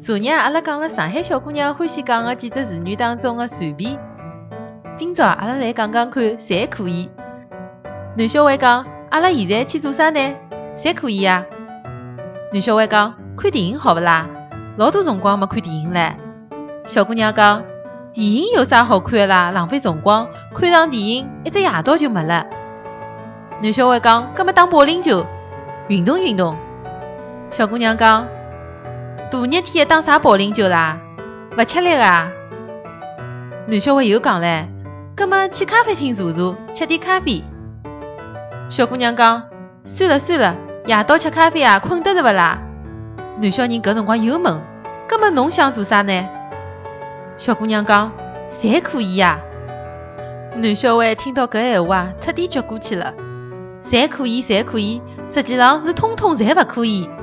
昨日阿拉讲了上海小姑娘欢喜讲的几只词语当中的随便。今朝阿拉来讲讲看，侪可以。男小孩讲，阿拉现在去做啥呢？侪可以啊。男小孩讲，看电影好不啦？老多辰光没看电影唻。小姑娘讲，电影有啥好看的啦？浪费辰光，看场电影一只夜到就没了。男小孩讲，搿么打保龄球，运动运动。小姑娘讲，大热天打啥保龄球啦？勿吃力啊。男小孩又讲唻，搿么去咖啡厅坐坐，吃点咖啡。小姑娘讲，算了算了，夜到吃咖啡啊，困得着勿啦？男小人搿辰光又问，搿么侬想做啥呢？小姑娘讲，侪可以呀。男小孩听到搿闲话，彻底撅过去了。侪可以，侪可以，实际上是通通侪勿可以。